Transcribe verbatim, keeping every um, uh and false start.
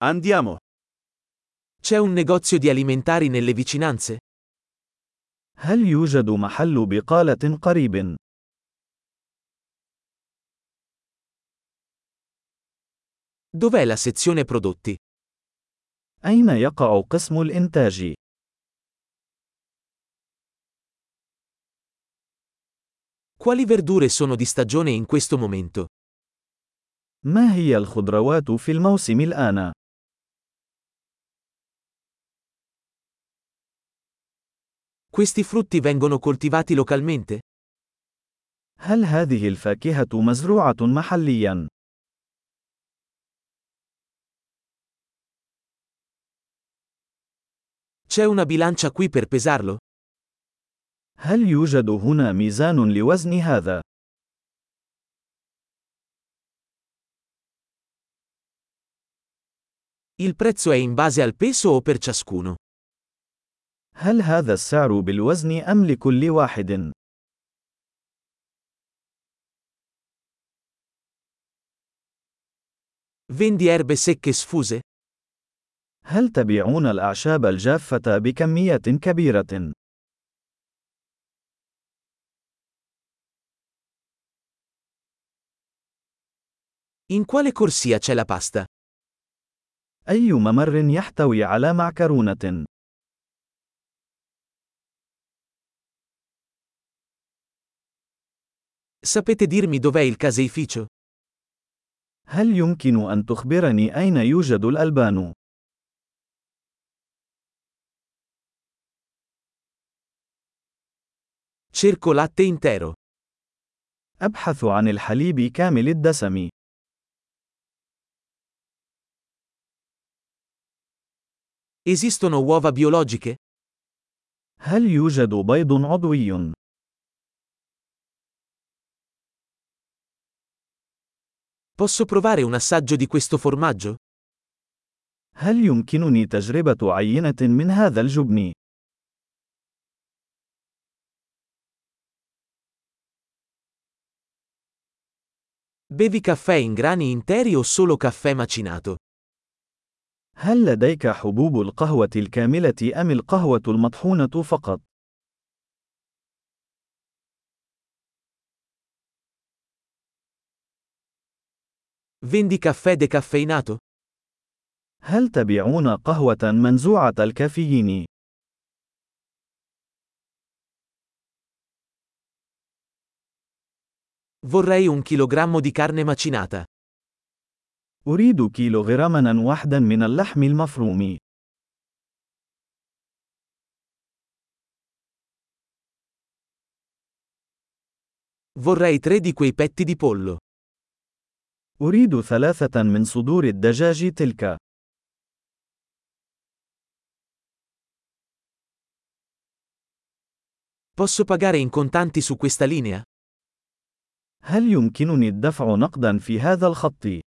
Andiamo. C'è un negozio di alimentari nelle vicinanze? هل يوجد محل بقالة قريب؟ Dov'è la sezione prodotti? أين يقع قسم الإنتاج؟ Quali verdure sono di stagione in questo momento? ما هي الخضروات في الموسم الآن؟ Questi frutti vengono coltivati localmente? هل هذه الفاكهة مزروعة محلياً؟ C'è una bilancia qui per pesarlo? هل يوجد هنا ميزان لوزن هذا؟ Il prezzo è in base al peso o per ciascuno? هل هذا السعر بالوزن أم لكل واحد؟ Vendi erbe secche sfuse? هل تبيعون الأعشاب الجافة بكميات كبيرة؟ In quale corsia c'è la pasta? أي ممر يحتوي على معكرونة؟ Sapete dirmi dov'è il caseificio? هل يمكن أن تخبرني أين يوجد الألبان؟ Cerco latte intero. أبحث عن الحليب كامل الدسم. Esistono uova biologiche? هل يوجد بيض عضوي؟ Posso provare un assaggio di questo formaggio? هل يمكنني تجربة عينة من هذا الجبن؟ Bevi caffè in grani interi o solo caffè macinato? هل لديك حبوب القهوة الكاملة أم القهوة المطحونة فقط؟ Vendi caffè decaffeinato? هل تبيعون قهوة منزوعة الكافيين؟ Vorrei un chilogrammo di carne macinata. أريد كيلوغراما واحدا من اللحم المفروم. Vorrei tre di quei petti di pollo. أريد ثلاثة من صدور الدجاج تلك. Posso pagare in contanti su questa linea? هل يمكنني الدفع نقدا في هذا الخط؟